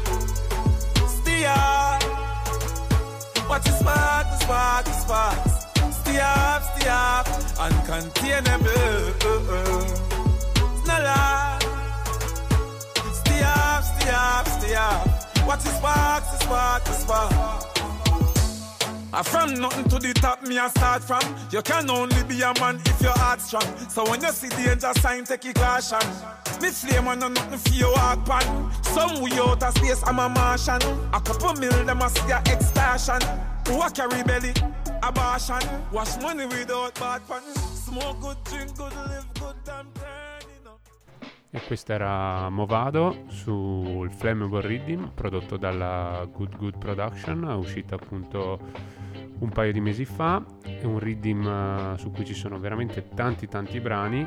Stay up. Watch the spark, the spark, the sparks. Stay up, stay up. Uncontainable. It's not lie. Stay up, stay up, stay up. Watch the spark, the spark, the spark. I from nothing to the top, me I start from. You can only be a man if your heart strong. So when you see danger sign, take a caution. Me flame on nothing for your walk pan. Some way out of space, I'm a Martian. A couple mil, them a see a extortion. Who a carry belly, abortion. Wash money without bad pan. Smoke good, drink good, live good, damn turning up. E questo era Movado sul Flammable Rhythm, prodotto dalla Good Good Production, uscita appunto un paio di mesi fa. È un rhythm uh, su cui ci sono veramente tanti tanti brani,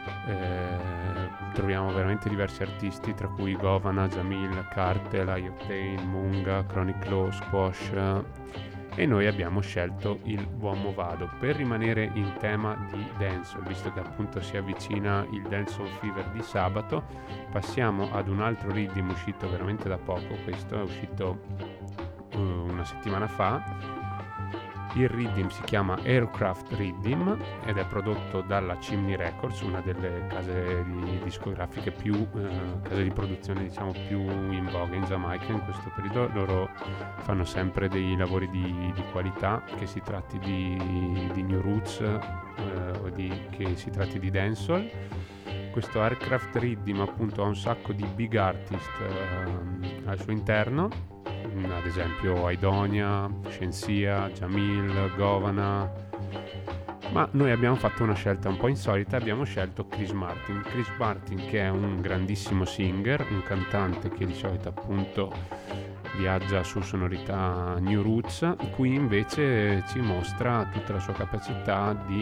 eh, troviamo veramente diversi artisti, tra cui Govana, Jamil, Kartel, Ioctane, Munga, Chronic Law, Squash, e noi abbiamo scelto il buon Movado per rimanere in tema di dancehall, visto che appunto si avvicina il Dancehall Fever di sabato. Passiamo ad un altro rhythm uscito veramente da poco, questo è uscito uh, una settimana fa. Il rhythm si chiama Aircraft Rhythm ed è prodotto dalla Chimney Records, una delle case di discografiche più eh, case di produzione diciamo più in voga in Giamaica in questo periodo. Loro fanno sempre dei lavori di, di qualità, che si tratti di, di new roots eh, o di, che si tratti di dancehall. Questo Aircraft Rhythm appunto ha un sacco di big artist eh, al suo interno, ad esempio Aidonia, Shensia, Jamil, Govana, ma noi abbiamo fatto una scelta un po' insolita, abbiamo scelto Chris Martin. Chris Martin, che è un grandissimo singer, un cantante che di solito appunto viaggia su sonorità new roots, qui invece ci mostra tutta la sua capacità di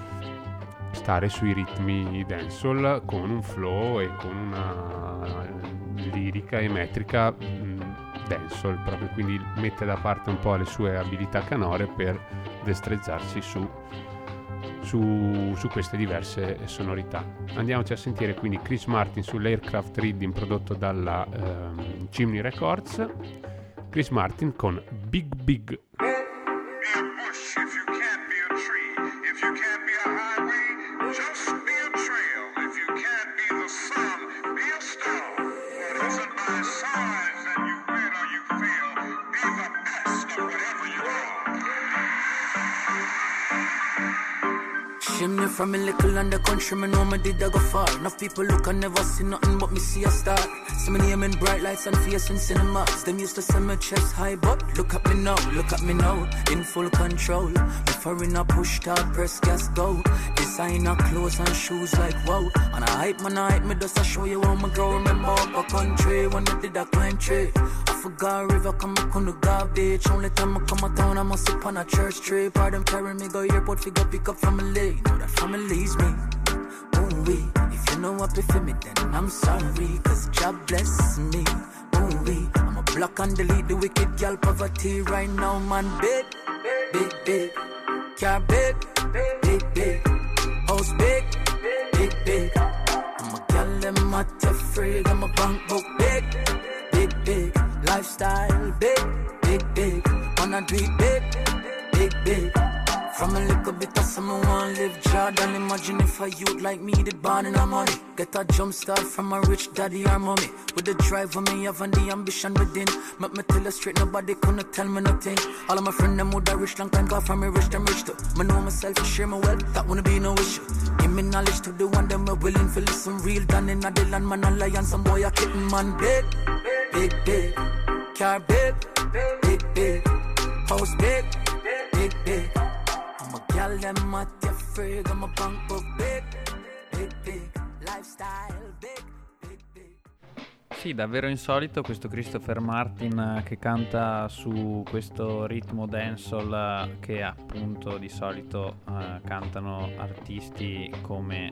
stare sui ritmi dancehall con un flow e con una lirica e metrica dancehall proprio, quindi mette da parte un po' le sue abilità canore per destreggiarsi su su, su queste diverse sonorità. Andiamoci a sentire quindi Chris Martin sull'Aircraft Reading prodotto dalla um, Chimney Records. Chris Martin con Big Big. Chimney from a little and the country, me know me did I go far. Enough people look and never see nothing but me see a star. See me name in bright lights and face in cinemas. Them used to send me chest high, but look at me now, look at me now, in full control. Before in a push start, press gas go. Designer clothes and shoes like wow. And I hype man, I hype me just to show you how me grow. Remember up a country when I did a climb tree. I forgot river come I couldn't garbage. Only time I come a town I must sit on a church tree. Part them carry me go airport, figure pick up family. Know that family's me. Ooh wee. If you know what be for me, then I'm sorry. Cause God bless me. Ooh wee. I'ma block and delete the wicked girl poverty right now, man. Big, big, big. Car big, big, big. House big, big, big. I'm a girl, them at your free. I'm a bank book big, big, big. Lifestyle big, big, big. Wanna do it big, big, big. From a little bit of someone wanna live Jordan. Imagine if a youth like me did born in a money. Get a jump start from a rich daddy or mommy. With the drive for me have and the ambition within. Make me tell you straight, nobody couldn't tell me nothing. All of my friends them would have rich long time. God from me rich, them rich too. Me know myself and share my wealth, that wouldn't be no issue. Give me knowledge to the one them are willing to listen. Real done in a the land, man a lion. Some boy a kitten, man. Big, big, big. Car big, big, big. House big, big, big. I'm a gal, them at your frig. I'm a bank book big, big, big. Lifestyle big, big, big. Sì, davvero insolito questo Christopher Martin che canta su questo ritmo dancehall che appunto di solito uh, cantano artisti come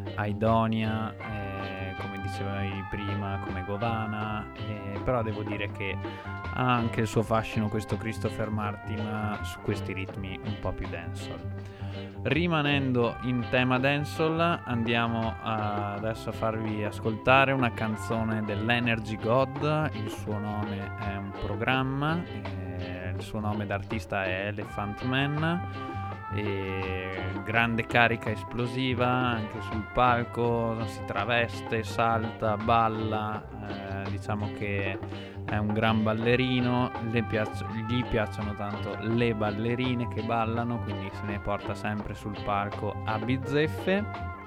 Aidonia, eh, come dicevi prima, come Govana, eh, però devo dire che ha anche il suo fascino questo Christopher Martin su questi ritmi un po' più dancehall. Rimanendo in tema dancehall, andiamo a adesso a farvi ascoltare una canzone dell'Energy God. Il suo nome è un programma, eh, il suo nome d'artista è Elephant Man. E grande carica esplosiva anche sul palco, si traveste, salta, balla, eh, diciamo che è un gran ballerino, le piac- gli piacciono tanto le ballerine che ballano, quindi se ne porta sempre sul palco a bizzeffe.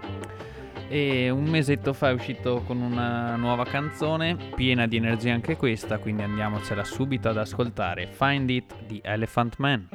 E un mesetto fa è uscito con una nuova canzone piena di energia anche questa, quindi andiamocela subito ad ascoltare. Find It di Elephant Man.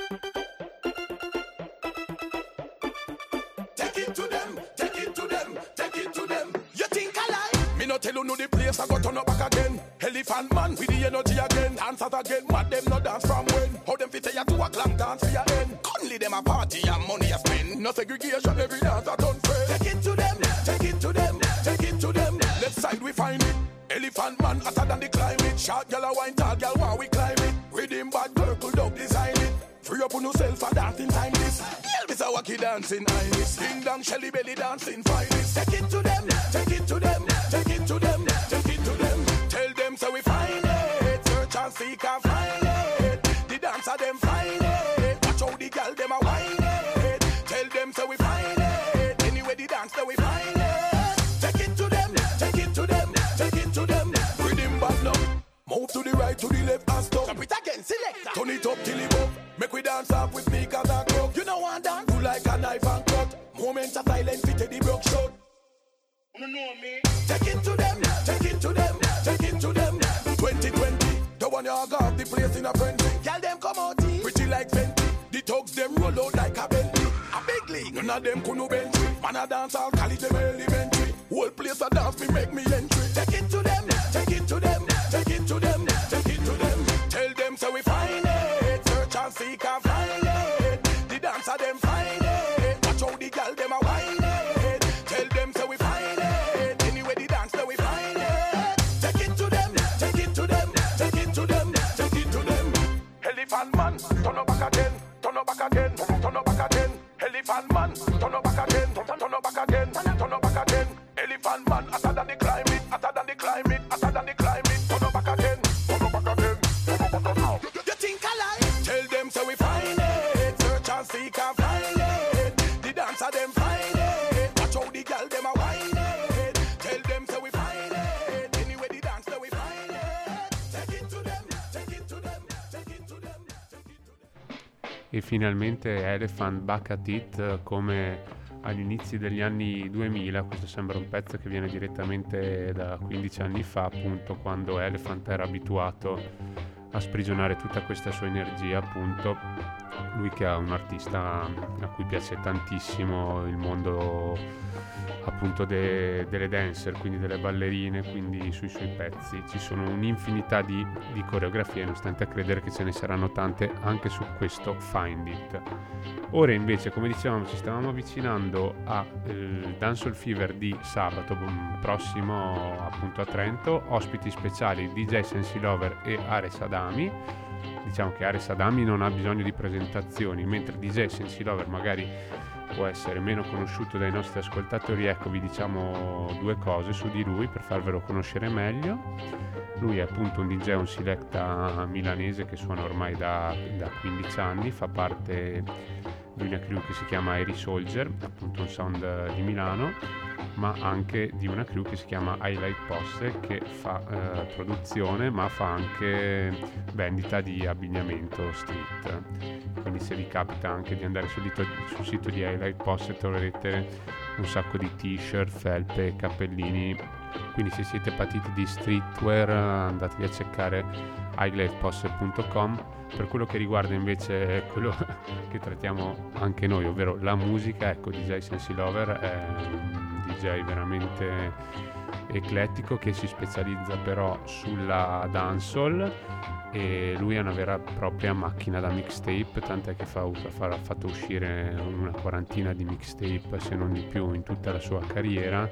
Tell you know the place I go turn up back again. Elephant Man with the energy again. Dancers again, mad them no dance from when. How them fit you to a glam dance for your end. Only them a party and money a spend. No segregation, every dance a turn friend. Take it to them, take it to them, take it to them. Left side we find it. Elephant Man hotter than the climate. Short girl a wine, tall girl while we climb it. Rhythm bad, purple dog design it. Free up on yourself for dancing time this. Yell me a wacky dancing iris. Ding dong, Shelly belly dancing finest. Take it to them, take it to them, take it to them, take it to them. Tell them so we find it. Search and seek and find it. The dancer them find it. Watch how the girl them a whine it. Tell them so we find it. Anyway the dance so we find it. Take it to them, take it to them, take it to them. Rhythm bad now. Move to the right, to the left and stop. Stop it again, select. Turn it up till it up. Make we dance up with me cause I crook. You know one dance. Do like a knife and cut. Moments of silence fit the broke shot. You know me. Take it to them, take it to them, take it to them. twenty twenty, the one you got the place in a frenzy. Girl them come out here, pretty like Fenty. The thugs them roll out like a Bentley. A big league, none of them couldn't bench me. Man a dance, I'll call it them elementary. Whole place a dance, me make me entry. Take it to them, take it to them, take it to them, take it to them. Tell them so we find it. Search and seek and find it. The dancer them find it. Watch how the girl them a whine it. Tell them so we find it. Anyway the dance so we find it. Take it to them, take it to them, take it to them, take it to them. Elephant Man, turn up back again, turn up back again, turn up back again. Elephant Elephant man, turn up back again, turn, turn up back again, turn up back again. Elephant man, hotter than the climate, hotter than the climate, hotter than the climate. Turn up back again, turn up back again, turn up back again. You, you think I lie? Tell them so we find it, search and seek and find it. The dancer them find it, watch how the girl them a whine it. Tell them so we find it, anyway the dance so we find it. Take it to them, take it to them, take it to them, take it to them. E finalmente Elephant Back at It, come agli inizi degli anni duemila. Questo sembra un pezzo che viene direttamente da quindici anni fa, appunto, quando Elephant era abituato a sprigionare tutta questa sua energia, appunto. Lui che è un artista a cui piace tantissimo il mondo, appunto, de, delle dancer, quindi delle ballerine, quindi sui suoi pezzi ci sono un'infinità di, di coreografie, nonostante a credere che ce ne saranno tante anche su questo Find It. Ora invece, come dicevamo, ci stavamo avvicinando al eh, Dancehall Fever di sabato prossimo, appunto, a Trento. Ospiti speciali D J Sensi Lover e Ares Adami. Diciamo che Ares Adami non ha bisogno di presentazioni, mentre D J Sensi Lover magari può essere meno conosciuto dai nostri ascoltatori. Ecco, vi diciamo due cose su di lui per farvelo conoscere meglio. Lui è appunto un D J, un selecta milanese che suona ormai da, da quindici anni, fa parte di una crew che si chiama Airy Soldier, appunto un sound di Milano, ma anche di una crew che si chiama Highlight Posse, che fa eh, produzione ma fa anche vendita di abbigliamento street. Quindi se vi capita anche di andare sul, dito, sul sito di Highlight Posse troverete un sacco di t-shirt, felpe, cappellini. Quindi se siete patiti di streetwear andatevi a cercare highlight posse punto com. Per quello che riguarda invece quello che trattiamo anche noi, ovvero la musica, ecco, D J Sensi Lover è un D J veramente eclettico che si specializza però sulla dancehall, e lui è una vera e propria macchina da mixtape, tant'è che fa, fa, ha fatto uscire una quarantina di mixtape, se non di più, in tutta la sua carriera.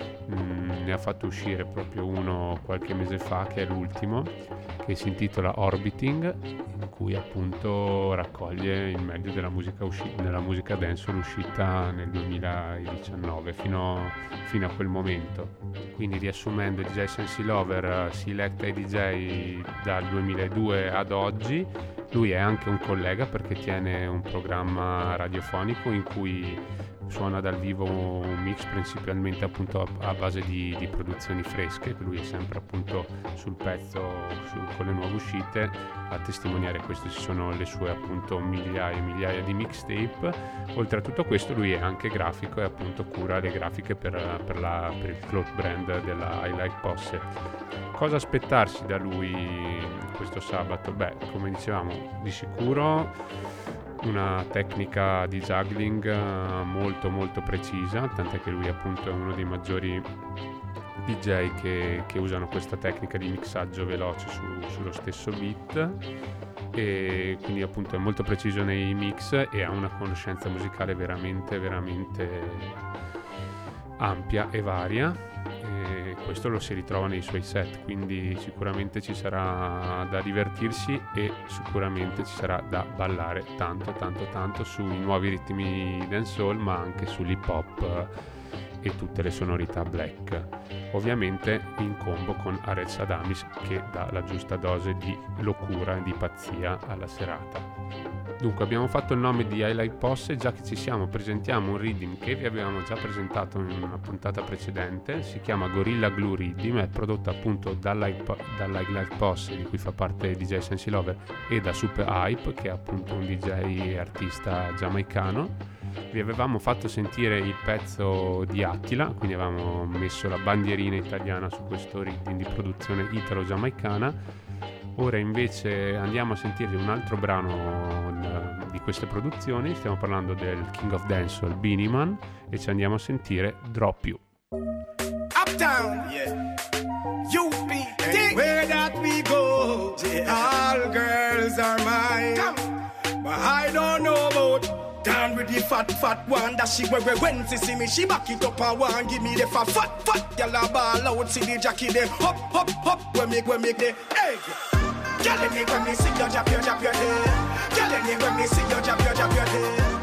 Mm, ne ha fatto uscire proprio uno qualche mese fa, che è l'ultimo, che si intitola Orbiting, in cui appunto raccoglie il meglio della musica, usci- della musica dancehall uscita nel duemiladiciannove fino, fino a quel momento. Quindi, riassumendo, D J Sensi Lover si electa i D J dal duemiladue ad oggi. Lui è anche un collega perché tiene un programma radiofonico in cui suona dal vivo un mix principalmente appunto a, a base di, di produzioni fresche. Lui è sempre appunto sul pezzo su, con le nuove uscite. A testimoniare questo ci sono le sue appunto migliaia e migliaia di mixtape. Oltre a tutto questo lui è anche grafico e appunto cura le grafiche per, per, la, per il cloth brand della Highlight Posse. Cosa aspettarsi da lui questo sabato? Beh, come dicevamo, di sicuro una tecnica di juggling molto molto precisa, tant'è che lui appunto è uno dei maggiori D J che, che usano questa tecnica di mixaggio veloce su, sullo stesso beat, e quindi appunto è molto preciso nei mix e ha una conoscenza musicale veramente veramente ampia e varia, e questo lo si ritrova nei suoi set, quindi sicuramente ci sarà da divertirsi e sicuramente ci sarà da ballare tanto tanto tanto sui nuovi ritmi dancehall, ma anche sull'hip hop e tutte le sonorità black, ovviamente in combo con Ares Adamis, che dà la giusta dose di locura e di pazzia alla serata. Dunque, abbiamo fatto il nome di Highlight Posse. Già che ci siamo, presentiamo un rhythm che vi avevamo già presentato in una puntata precedente. Si chiama Gorilla Glue Rhythm, è prodotto appunto dall'Highlight Posse, di cui fa parte D J Sensi Lover, e da Super Hype, che è appunto un D J artista giamaicano. Vi avevamo fatto sentire il pezzo di Attila, quindi avevamo messo la bandierina italiana su questo rhythm di produzione italo-giamaicana. Ora invece andiamo a sentire un altro brano di queste produzioni. Stiamo parlando del King of Dancehall, Beenie Man, e ci andiamo a sentire Drop You. Uptown, yeah. U P, hey, where that we go, yeah. All girls are mine. Come. But I don't know about down with the fat, fat one that she wear when she see me, she back it up and one give me the fat, fat, fat. Girl a ball out, see the jacket them hop, hop, hop. When make, when make the egg. Girl, me when me see you drop your, drop your head. Girl, me when me see you drop your, drop your head.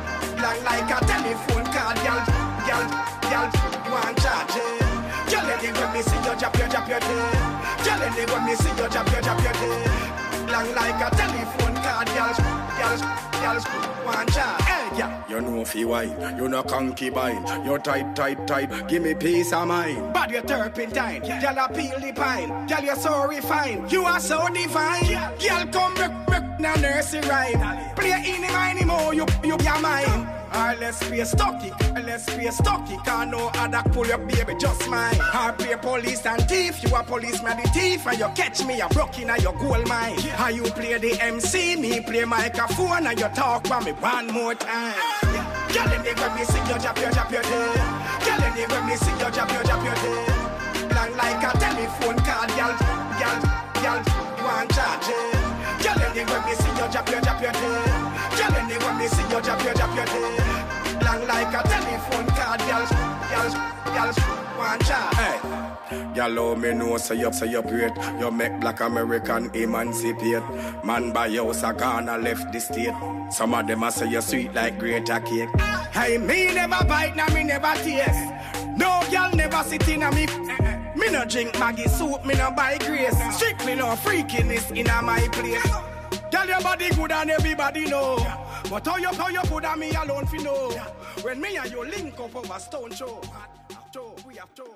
Long like a telephone call, girl, girl, girl, one charge. Girl, when me see you drop your, drop your day. Girl, when me see you drop your, drop your day. Long like a telephone call, girl, girl, girl, one charge. Hey, girl, you know fi wine, you no concubine. You tight, tight, tight, give me peace of mind. But you're turpentine, girl, I peel the pine. Girl, you're so refined, you are so divine. Girl, come break, break, now nursery rhyme. Play any mine more, you, you, you're mine. Or let's play stocky, let's play stocky. Can't no other pull your baby, just mine. Or play police and thief, you a policeman the thief. And you catch me, I'm broken at your gold mine. How you play the M C, me play microphone. And you talk about me one more time. Girl, them they when me see you drop your, drop your day. Girl, them they when me see you drop your, drop your day. Long like a telephone call, girl, girl, girl, you want charge. Girl, them they when me see you drop your, drop your day. Girl, them they when me see you drop your, drop your day. Long like a telephone call, girl, girl, girl, one charge. Hey. Y'all love me know, say you, say you great. You make black American emancipate. Man by house a Ghana left the state. Some of them a say you sweet like greater cake. Hey, me never bite, now me never taste. No girl never sit in a me. Me no drink Maggie soup, me no buy grace. Strictly no freakiness in a my place. Girl, your body good and everybody know. But how you, how you good and me alone fi know. When me and you link up over stone show. We have to.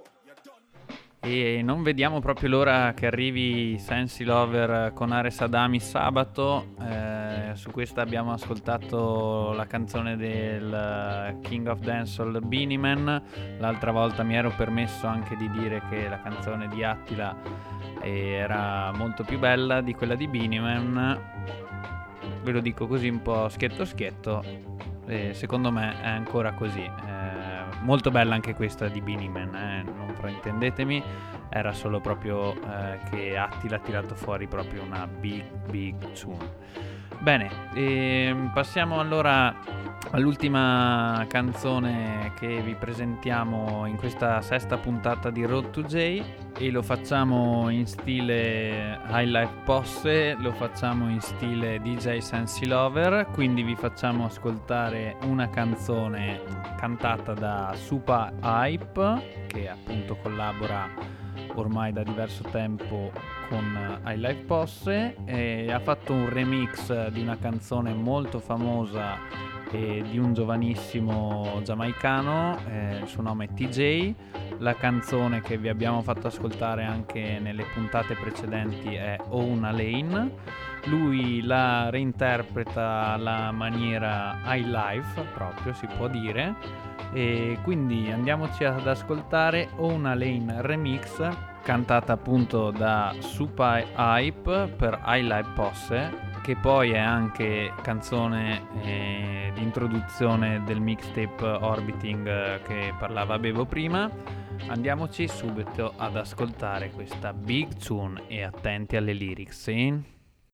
E non vediamo proprio l'ora che arrivi Sensi Lover con Ares Adami sabato. Eh, su questa abbiamo ascoltato la canzone del King of Dancehall Beenie Man. L'altra volta mi ero permesso anche di dire che la canzone di Attila era molto più bella di quella di Beenie Man. Ve lo dico così un po' schietto schietto, e secondo me è ancora così. Eh, molto bella anche questa di Beenie Man, eh, non fraintendetemi, era solo proprio eh, che Attila ha tirato fuori proprio una big big tune. Bene, ehm, passiamo allora all'ultima canzone che vi presentiamo in questa sesta puntata di Road to J, e lo facciamo in stile High Life Posse, lo facciamo in stile D J Sensi Lover, quindi vi facciamo ascoltare una canzone cantata da Super Hype, che appunto collabora ormai da diverso tempo con High Life Posse, e ha fatto un remix di una canzone molto famosa e di un giovanissimo giamaicano, eh, il suo nome è T J. La canzone che vi abbiamo fatto ascoltare anche nelle puntate precedenti è Own a Lane. Lui la reinterpreta alla maniera high life, proprio si può dire, e quindi andiamoci ad ascoltare Own a Lane Remix, cantata appunto da Super Hype per High Life Posse, che poi è anche canzone eh, di introduzione del mixtape Orbiting eh, che parlava Bevo prima. Andiamoci subito ad ascoltare questa big tune e attenti alle lyrics, sì?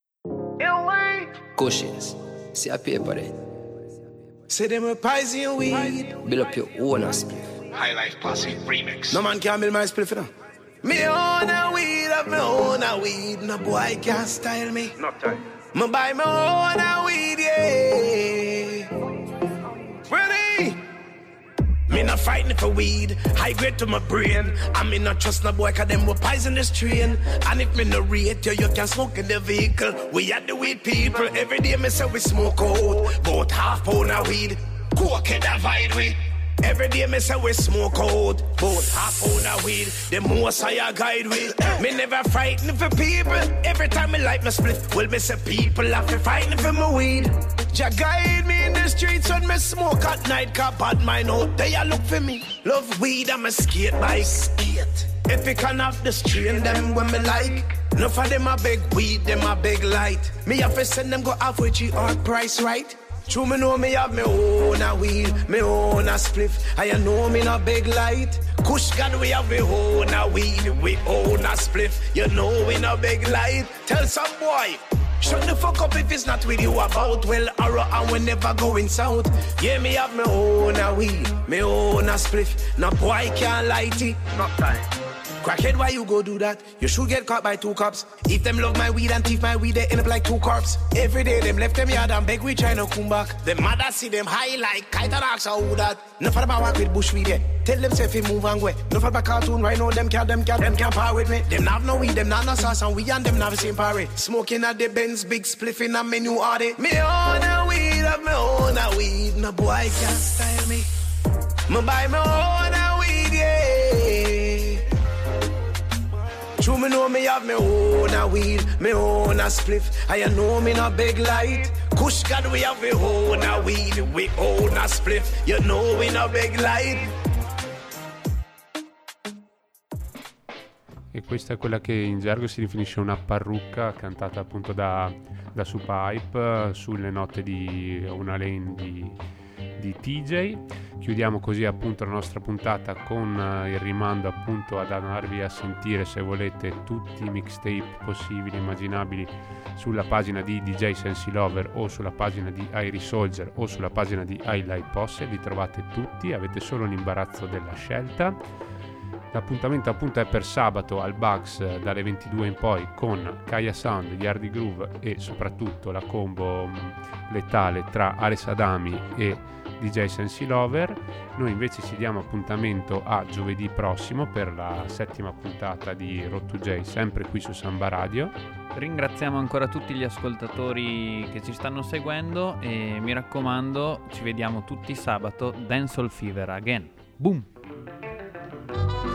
Cushions, see a paper there. Say them a poison weed. Build up your own spliff. High Life Posse remix. No man can build my spliff, you know. Me own a weed, have me own a weed. No boy can't style me. Not time. Me buy my own a weed, yeah. Ready? Me not fighting for weed, high grade to my brain. I me not trust no boy, cause them will poison this train. And if me no rate you, you can smoke in the vehicle. We are the weed people, every day me say we smoke out. About half pound of weed, coke can divide we. Every day me say we smoke out. About half pound of weed, the most I guide with. Me never frightened for people, every time me light my split. Well me say people have to fighting for my weed. Jah guide me in the streets when me smoke at night, cause bad mind out they a look for me. Love weed and me skate bike. Skate. If you can have the strain, them when me like. Enough of them a big weed, them a big light. Me have to send them go halfway G or price right. True me know me have me own a weed, me own a spliff. I know me no big light. Kush God we have me own a weed, we own a spliff. You know we no big light. Tell some boy. Shut the fuck up if it's not with you about. Well, arrow and we never going south. Yeah, me have me own a weed, me own a spliff. No boy can't light it. Not time. Crackhead, why you go do that? You should get caught by two cops. If them love my weed and thief my weed, they end up like two corpse. Every day them left them yard and beg we try to come back. Them mother see them high like kite and ask how that. No for about walk with bush weed, yeah. Tell them say fi move and go. No for about cartoon right now, them can't, them can't, them can't power with me. Them have no weed, them not no sauce, and we and them not the same party. Smoking at the Benz, big spliff in a menu order. Me own a weed, of me own a weed. No boy can't style me. Me buy me own a weed, yeah. True, me know me have me own a weed, me own a spliff. I know me no big light. Kush God, we have me own a weed, we own a spliff. You know we no big light. E questa è quella che in gergo si definisce una parrucca, cantata appunto da, da Super Hype sulle note di Una Lane di, di T J. Chiudiamo così appunto la nostra puntata con uh, il rimando appunto ad andarvi a sentire, se volete, tutti i mixtape possibili e immaginabili sulla pagina di D J Sensi Lover o sulla pagina di Irie Soldier o sulla pagina di Highlight Posse. Li trovate tutti, avete solo l'imbarazzo della scelta. L'appuntamento appunto è per sabato al Bugs dalle ventidue in poi con Kaya Sound, Yardi Groove e soprattutto la combo mh, letale tra Ares Adami e D J Sensi Lover. Noi invece ci diamo appuntamento a giovedì prossimo per la settima puntata di Road to J, sempre qui su Samba Radio. Ringraziamo ancora tutti gli ascoltatori che ci stanno seguendo e mi raccomando, ci vediamo tutti sabato. Dancehall Fever again. Boom!